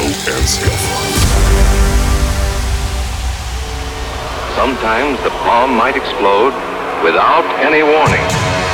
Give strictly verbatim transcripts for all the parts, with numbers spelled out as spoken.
Sometimes the bomb might explode without any warning.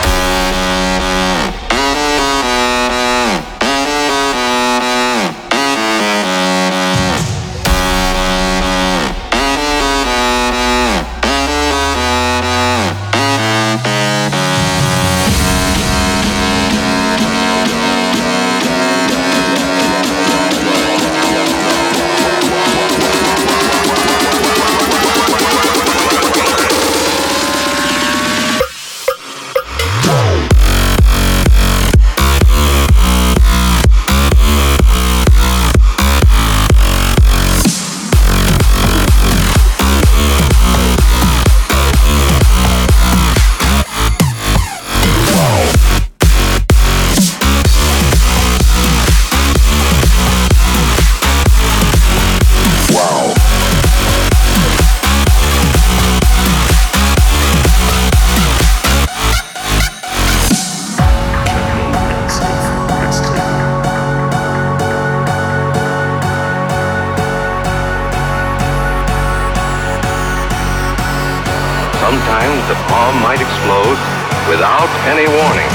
Sometimes the bomb might explode without any warning.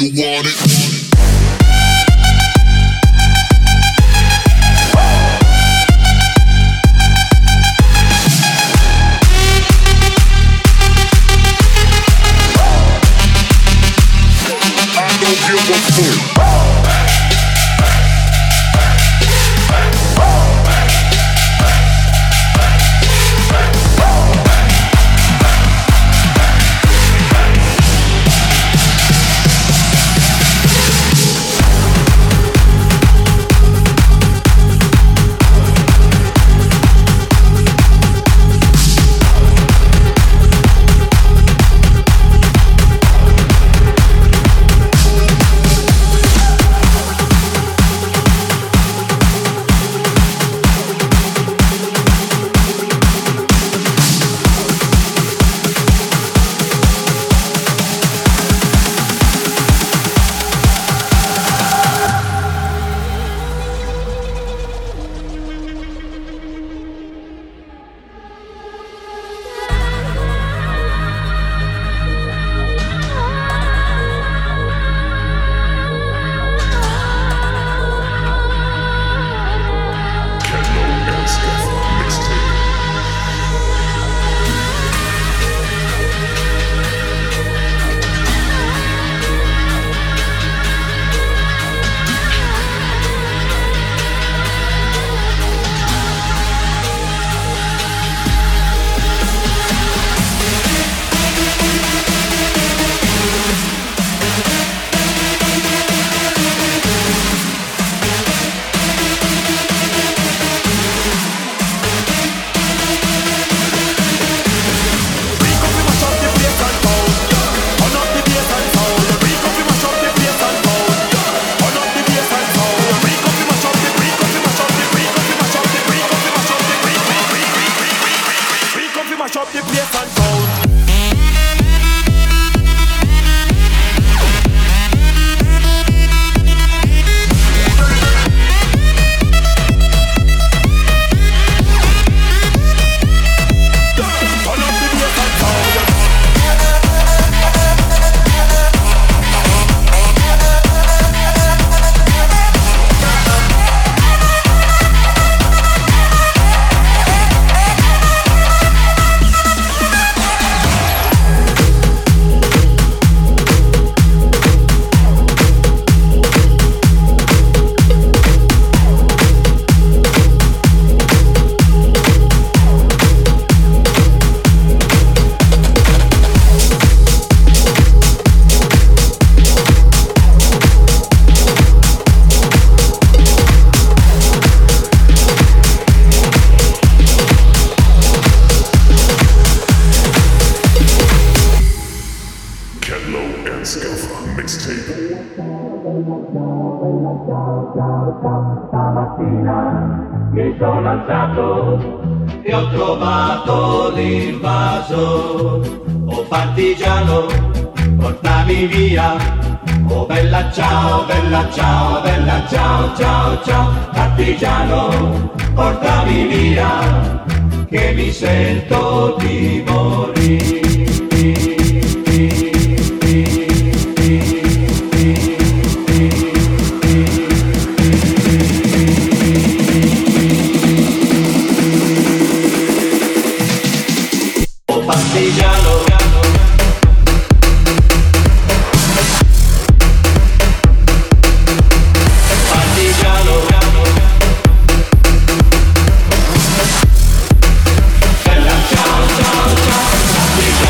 want it. Give a fuck. Stamattina mi sono alzato e ho trovato l'invaso. Oh partigiano, portami via. Oh bella ciao, bella ciao, bella ciao, ciao, ciao. Partigiano, portami via, che mi sento di morire. Partigiano, partigiano, bella ciao ciao ciao, partigiano.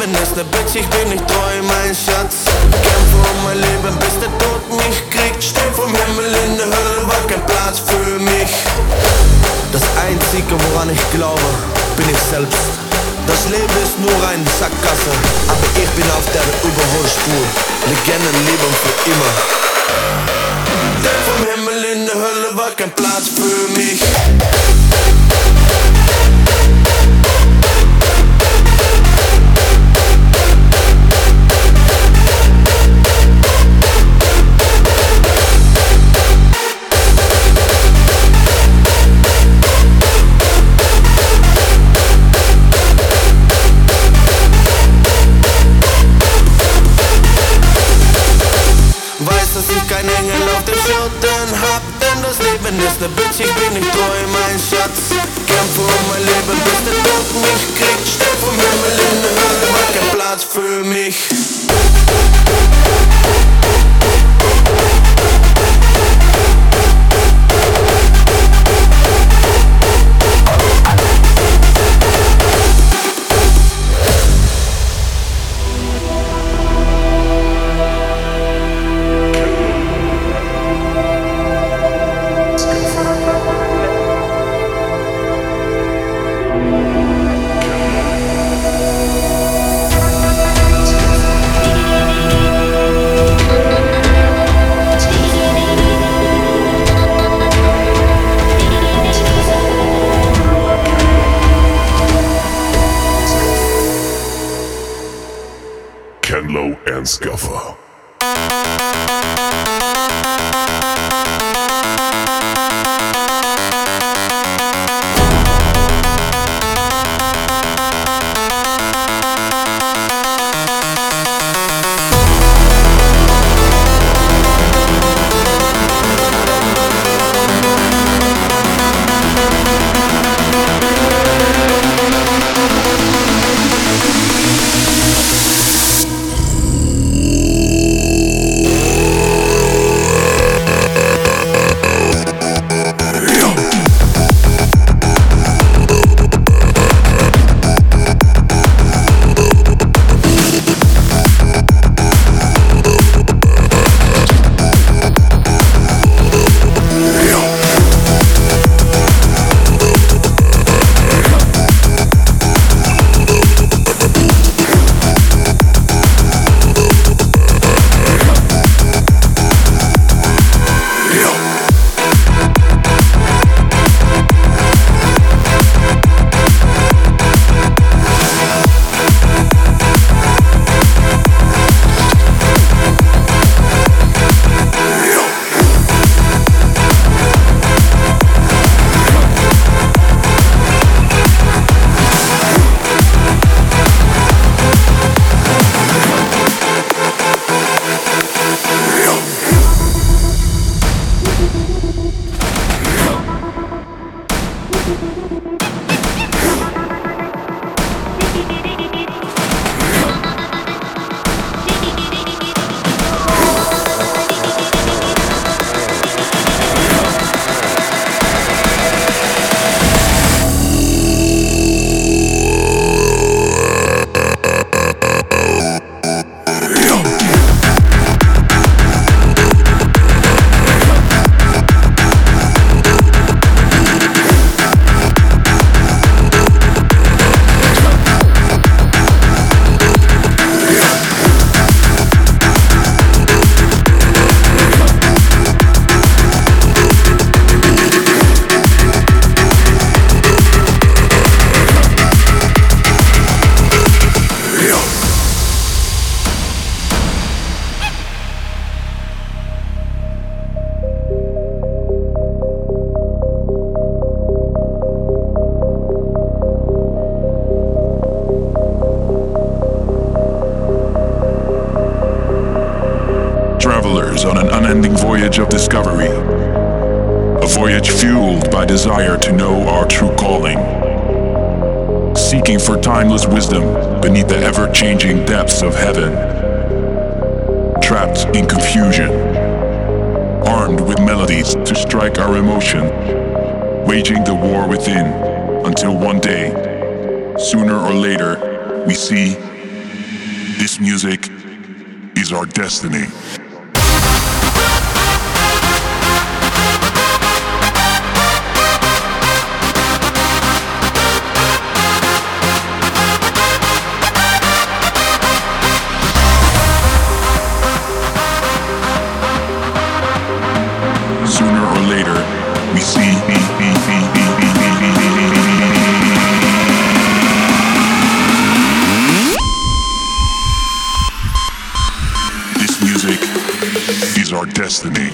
Leben ist ne Bitch, ich bin nicht treu, mein Schatz. Kämpfe um mein Leben, bis der Tod mich kriegt. Steh vom Himmel in der Hölle, war kein Platz für mich. Das Einzige, woran ich glaube, bin ich selbst. Das Leben ist nur eine Sackgasse, aber ich bin auf der Überholspur. Legenden leben für immer. Denn vom Himmel in der Hölle war kein Platz für mich. Kein Engel auf dem Schultern hab, denn das Leben ist ne Bitch, ich bin nicht treu, mein Schatz. Kämpfe um mein Leben, bis der Tod mich kriegt. Steh vom Himmel in der Hölle, war kein Platz für mich. Kenlo and Scuffer. On an unending voyage of discovery, a voyage fueled by desire to know our true calling, seeking for timeless wisdom beneath the ever-changing depths of heaven, trapped in confusion, armed with melodies to strike our emotion, waging the war within until one day, sooner or later, we see This music is our destiny. Sooner or later, we see this music is our destiny.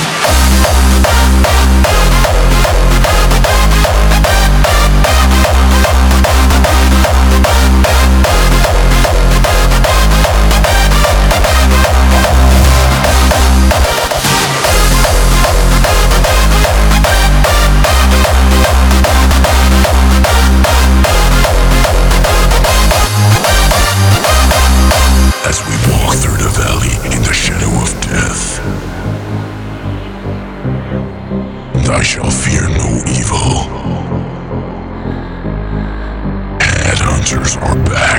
As we walk through the valley in the shadow of death, and I shall fear no evil. Headhunters are back.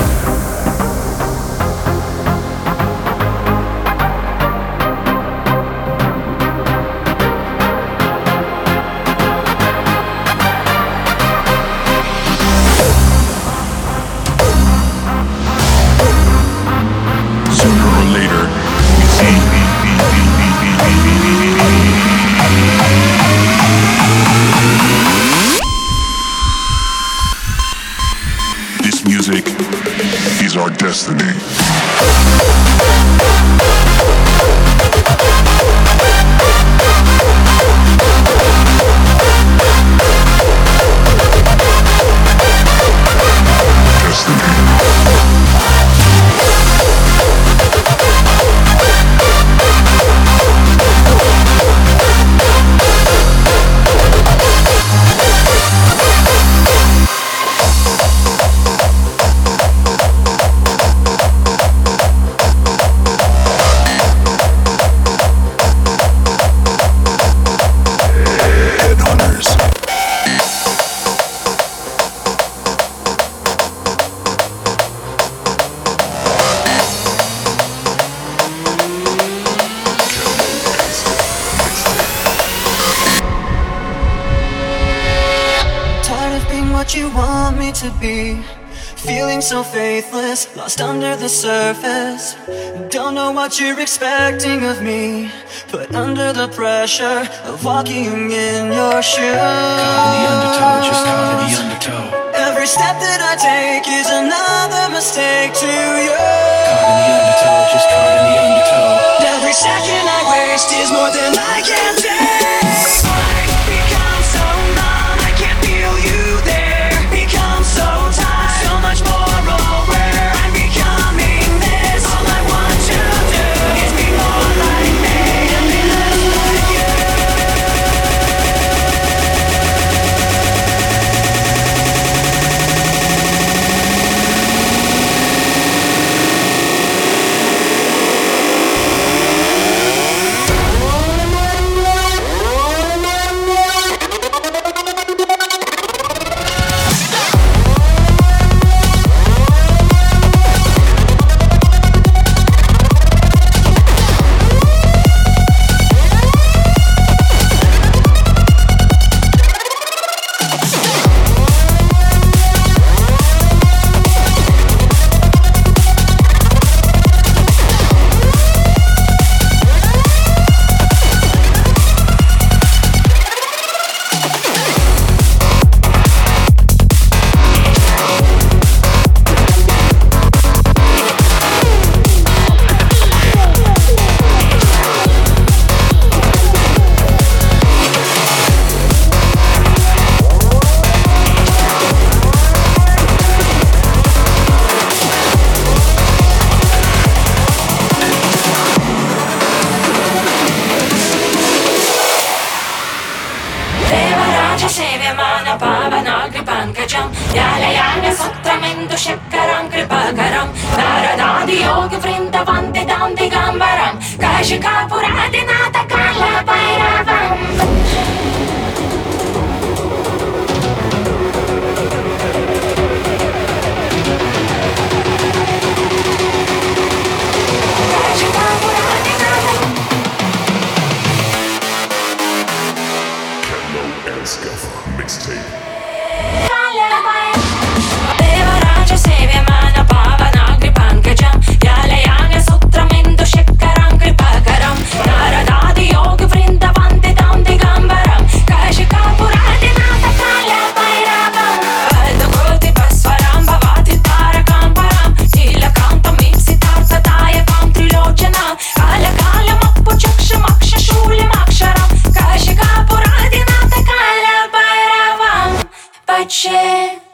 This music is our destiny. What you want me to be, feeling so faithless, lost under the surface. Don't know what you're expecting of me, put under the pressure of walking in your shoes. Caught in the undertow, just caught in the undertow. Every step that I take is another mistake to you. Caught in the undertow, just caught in the undertow. Every second I waste is more than I can take. I've become so numb, I can't feel you there. So tired, so much more aware. I'm becoming this. All I want to do is be more like me and be less like you. पावनाग्निपङ्कजं यालयानसत्रमिन्दु शक्करं कृपाकरं नारदादियोगवृन्दवन्दितं दिगम्बरं काशिकापुरादिनाथकालभैरवम् anything. Devaraja Sevyamana Pavanagri Pankajam Yalayana Sutramindu Shekkaram Kripakaram Naradadi Yogi Vrinda Vandidam Digambaram Kashika Puradinata Kala Bhairavam Adakoti Baswaram Bhavati Tarakam Param Nilakantam Ipsitartha Dayakam Trilochanam Kala Kala Mappu Chaksham Aksha Shulim Aksharam Kashika Puradinata Kala Bhairavam Pache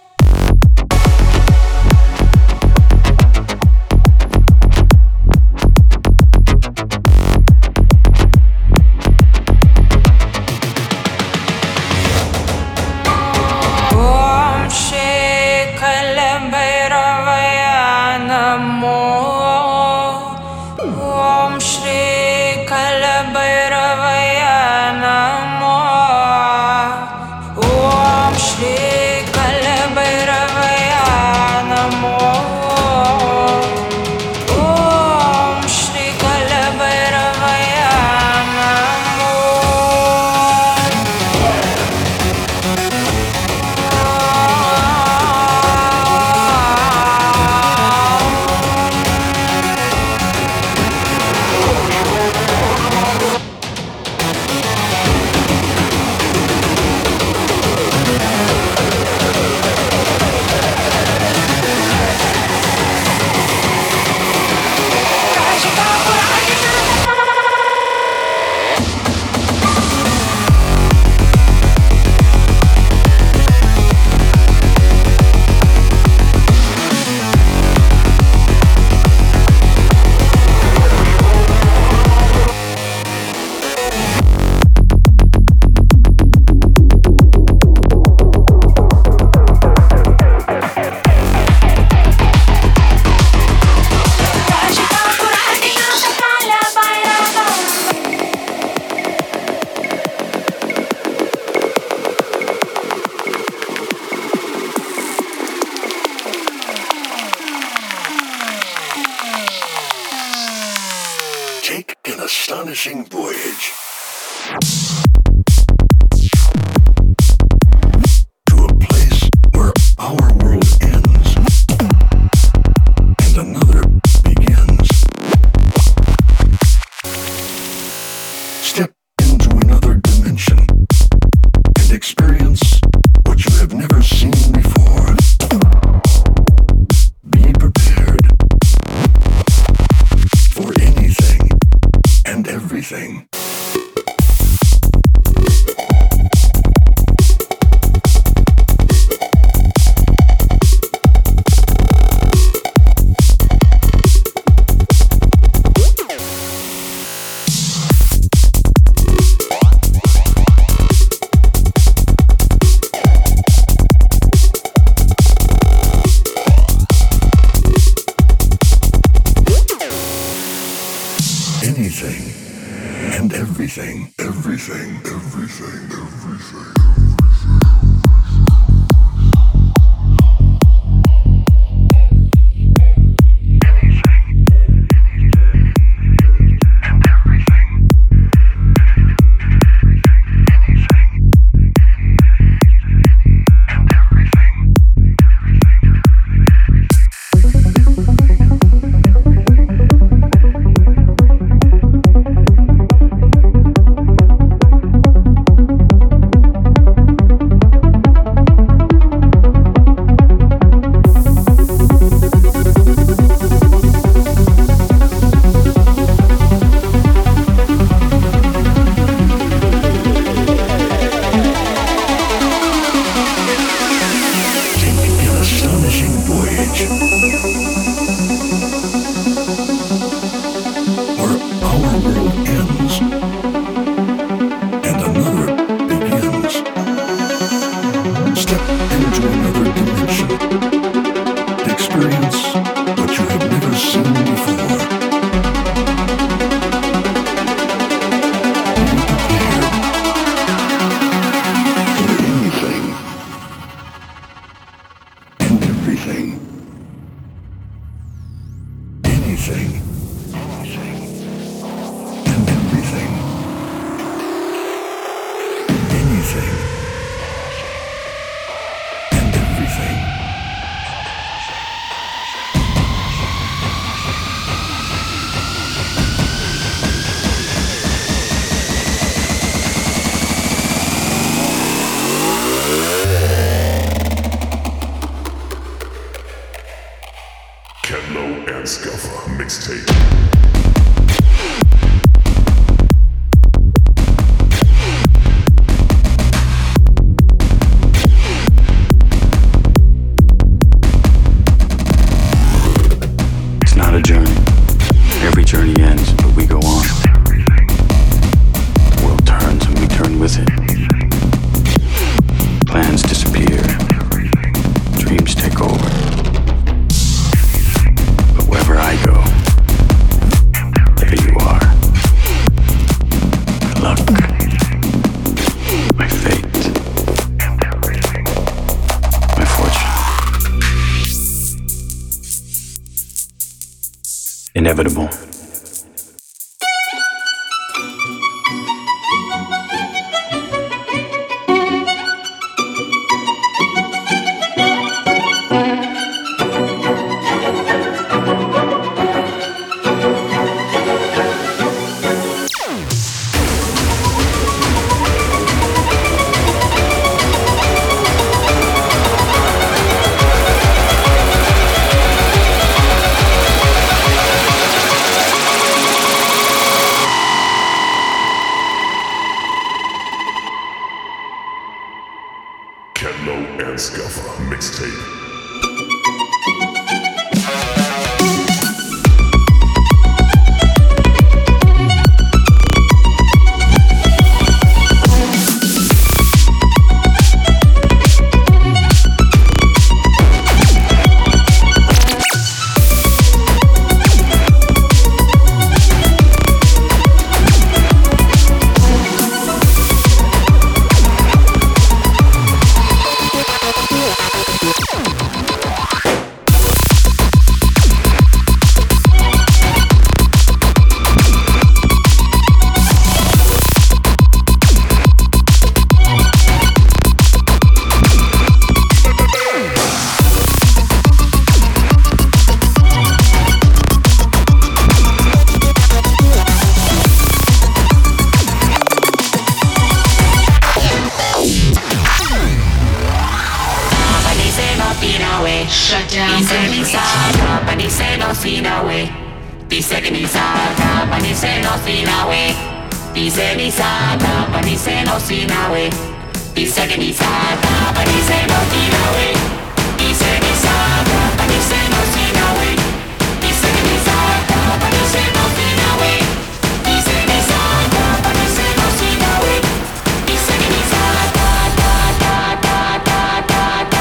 Take an astonishing voyage to a place where our world ends and another begins. Step into another dimension and experience what you have never seen before. Be prepared for anything and everything. Anything and everything, everything, everything, everything. mixtape. It's not a journey. Every journey ends, but we go on. The world turns and we turn with it. Plans disappear. Dreams take over. But wherever I go, there you are. My luck. My fate. My fortune. Inevitable. Kenlo and Scuffa mixtape. Shut down, baby. Company say no see no way. Dice que ni sabe, company say no see no way. Dice ni sabe, company say no see no way. Dice que ni sabe, company say no see no way. Dice ni sabe, company say no see no way. Dice que ni sabe, company say no see no way. Dice ni sabe, company say no see no way. Dice que ni sabe, da da da da da da da.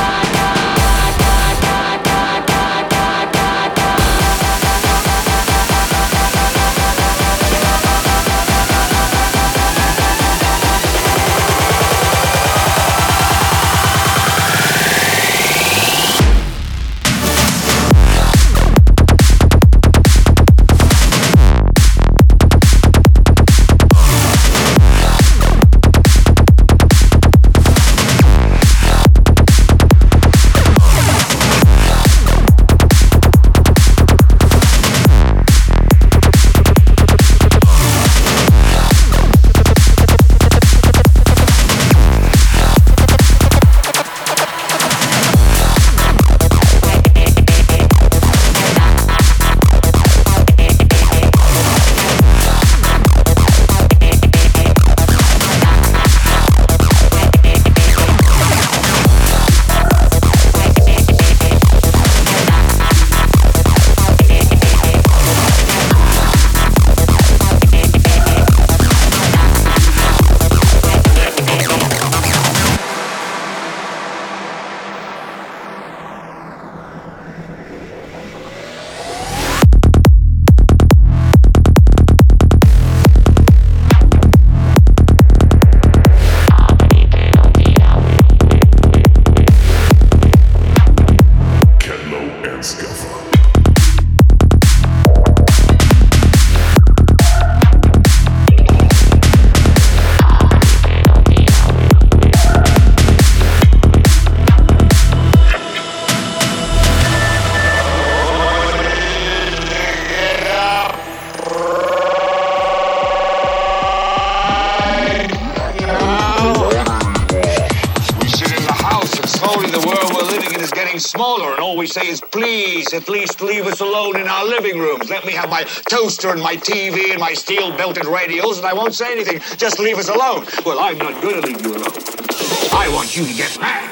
story, the world we're living in is getting smaller, and all we say is, please, at least leave us alone in our living rooms. Let me have my toaster and my T V and my steel-belted radios, and I won't say anything. Just leave us alone. Well, I'm not going to leave you alone. I want you to get mad.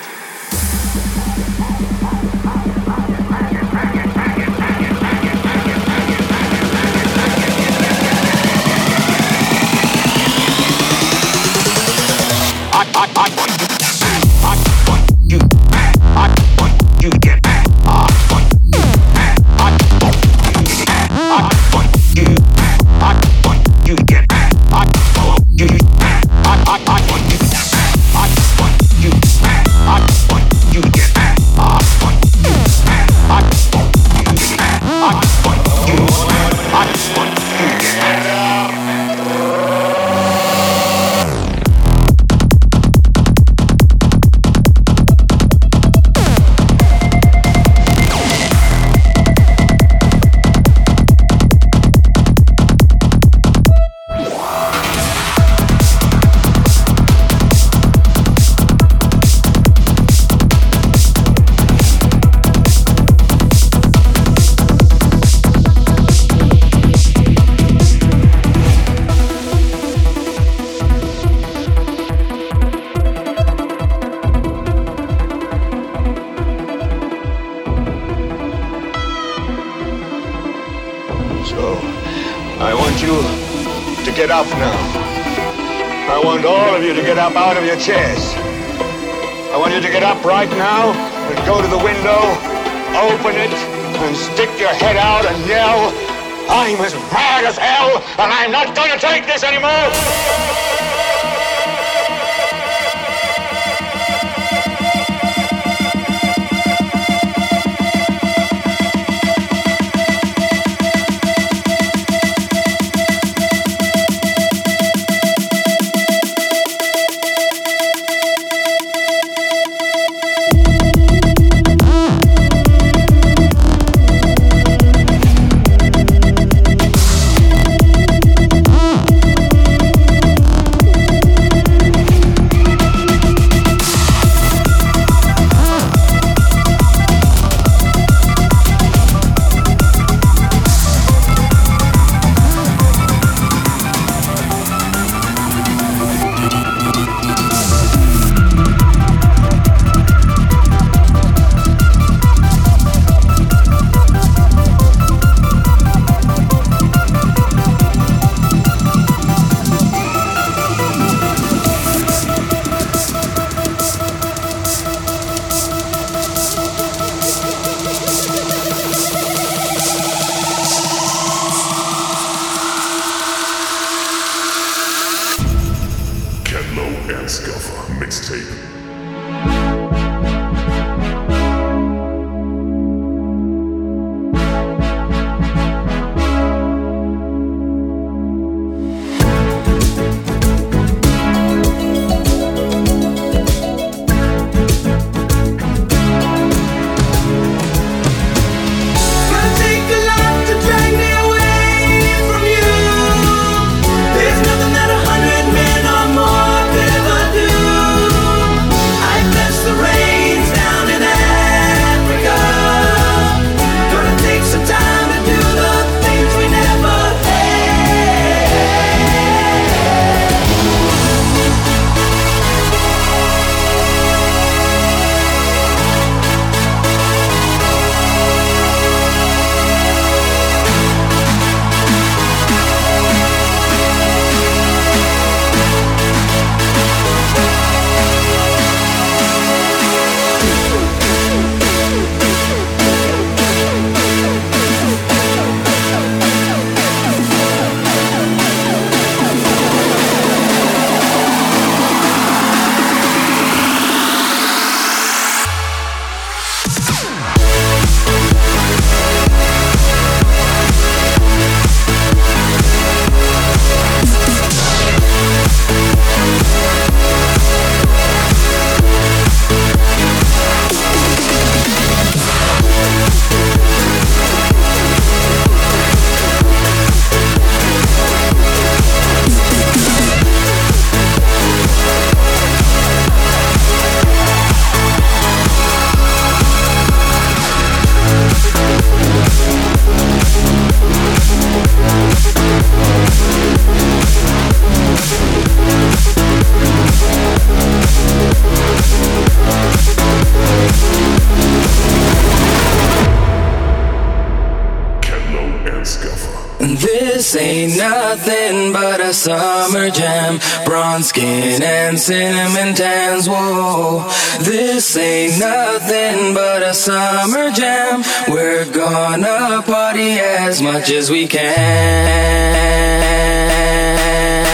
I, I, I want you. I want you. I want you to get mad. I want you. I want you to get mad. I want you. I want you to get mad. I want you. I, I, I want you. I want you. I want you to get mad. I want you. I want you to get mad. I want you. I want you to get mad. Get up now. I want all of you to get up out of your chairs. I want you to get up right now and go to the window, open it, and stick your head out and yell, I'm as mad as hell, and I'm not going to take this anymore! This ain't nothing but a summer jam. Bronze skin and cinnamon tans, whoa. This ain't nothing but a summer jam. We're gonna party as much as we can.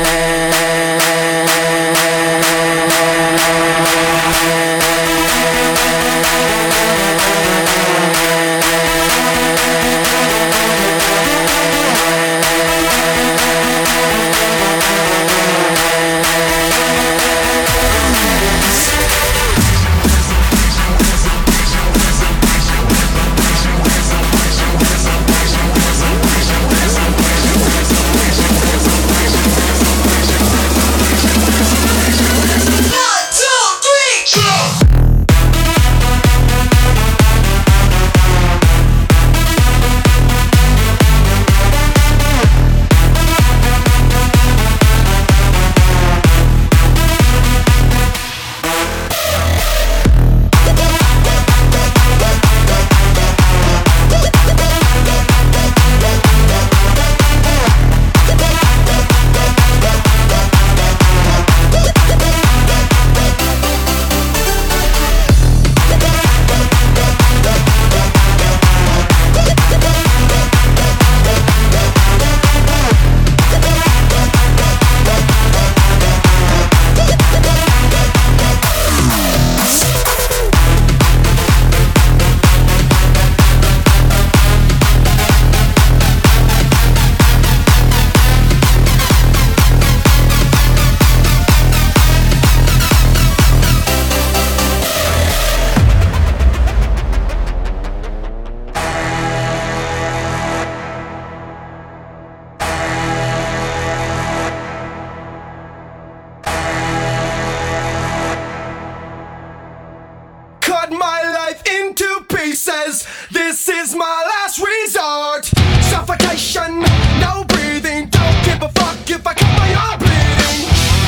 This is my last resort. Suffocation, no breathing. Don't give a fuck if I cut my arm bleeding.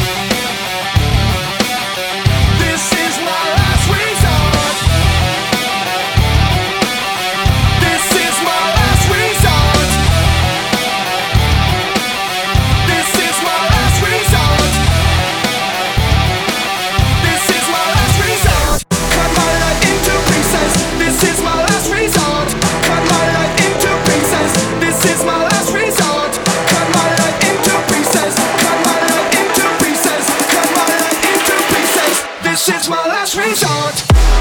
This is my last resort. This is my last resort. This is my last resort. This is my last resort. Cut my life into pieces. This is my last resort. Cut my life into pieces. This is my last resort. Cut my life into pieces. Cut my life into pieces. Cut my life into pieces. This is my last resort.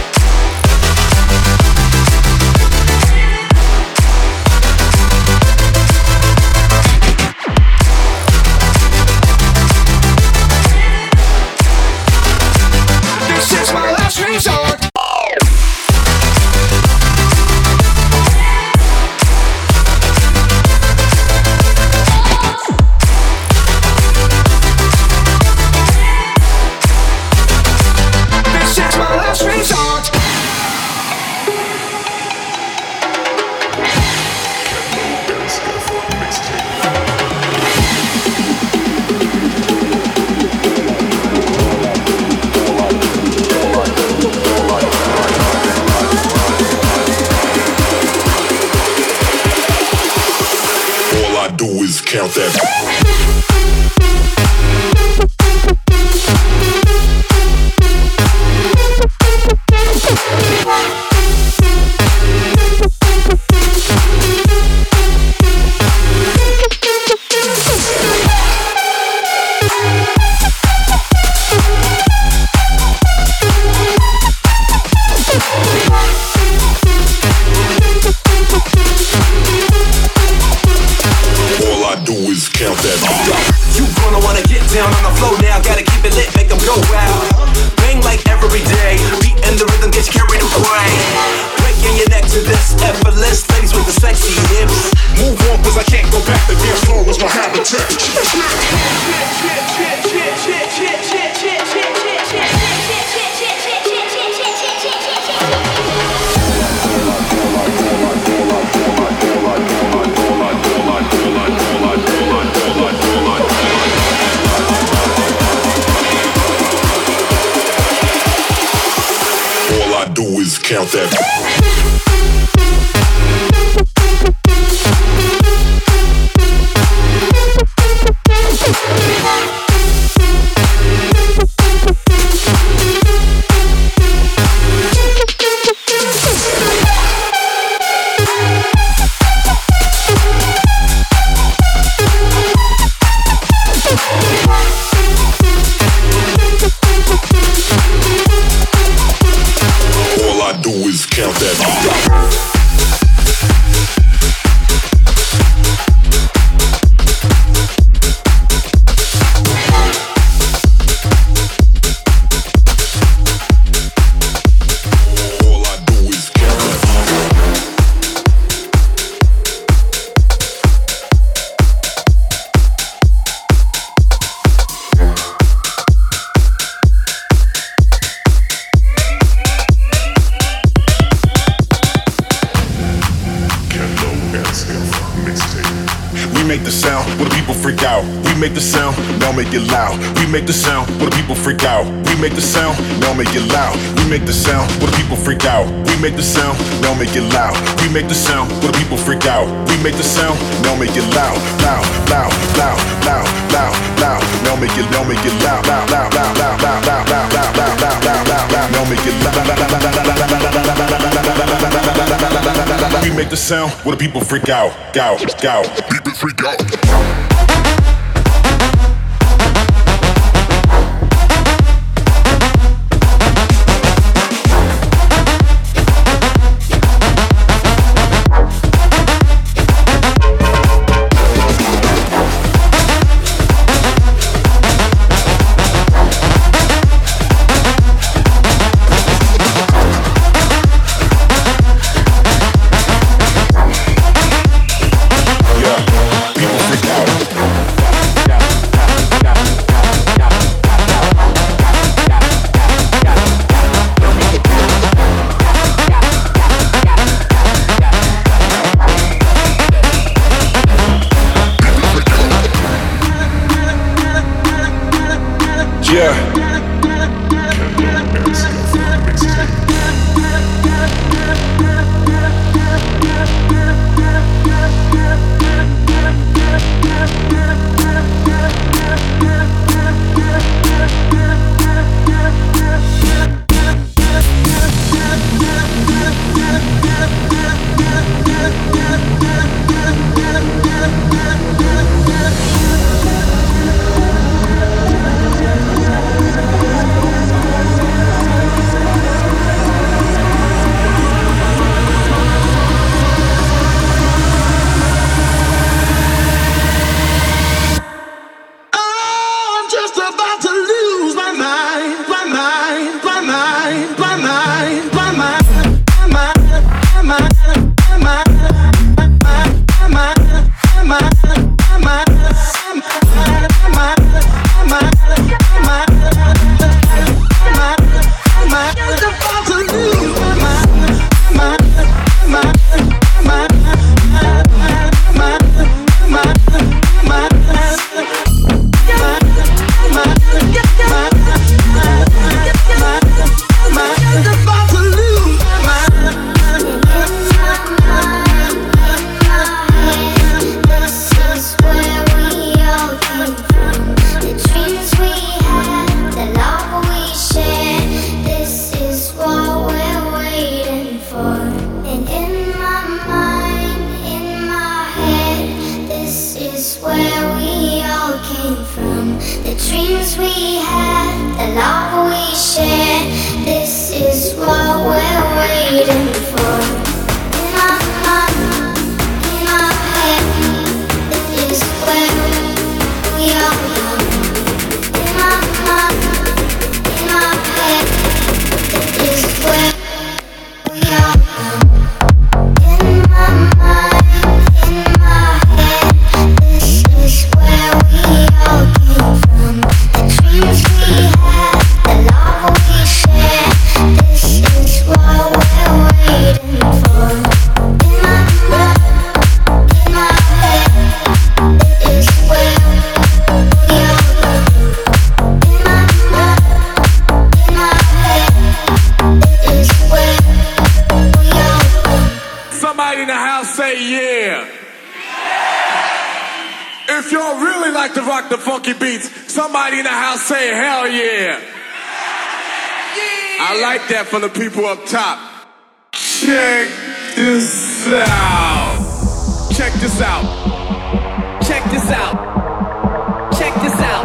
This is my last resort. This is my last resort. All I do is count that. All I do is count that. You gonna wanna get down on the floor now. Gotta keep it lit, make them go wild. Bang like every day. Beat and the rhythm gets carried away. Breaking your neck to this effortless. Ladies with the sexy hips. Move on, cause I can't go back. The dance floor was my habitat. All I do is count that. I do is count that. We make the sound, now make it loud. We make the sound, where the people freak out. We make the sound, now make it loud. We make the sound, where the people freak out. We make the sound, now make it loud. We make the sound, where the people freak out. We make the sound, now make it loud, loud, loud, loud, loud, loud, loud. Now make it, now make it loud, loud, loud, loud, loud, loud, loud, loud, loud, loud, loud, loud, loud, loud. Now make it loud. We make the sound, where the people freak out, out, out. People freak out. Somebody in the house say hell yeah. I like that from the people up top. Check this out. Check this out. Check this out. Check this out.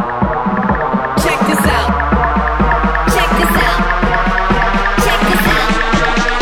Check this out. Check this out. Check this out.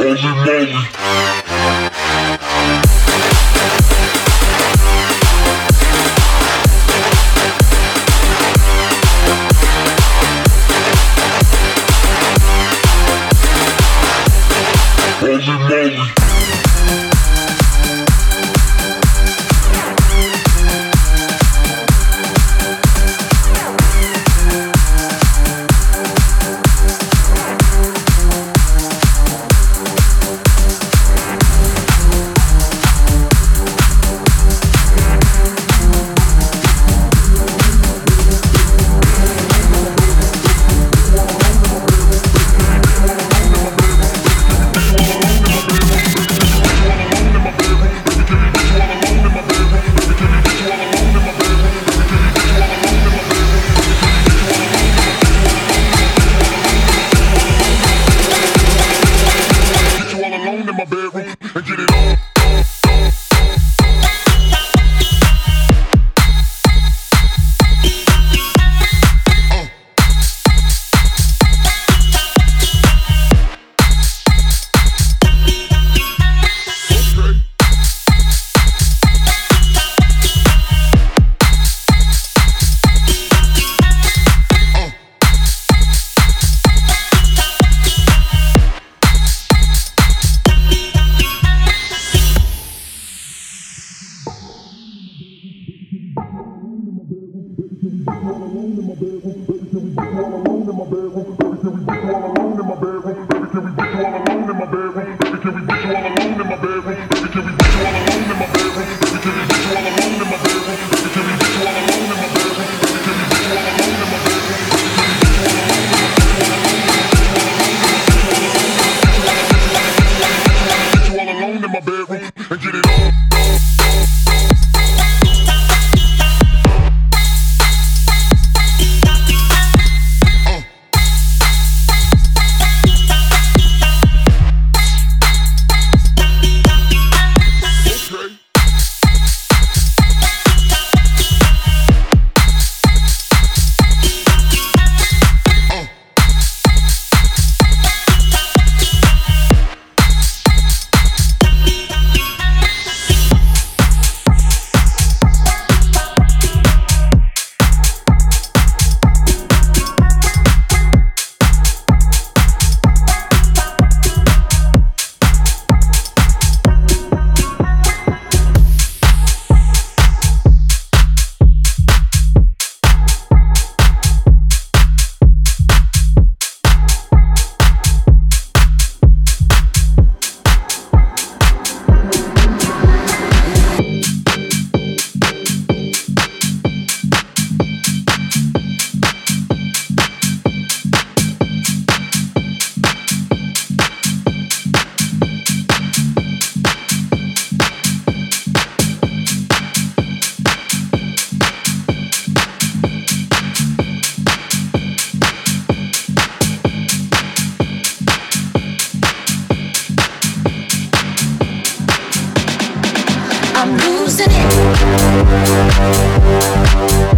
I'm losing it.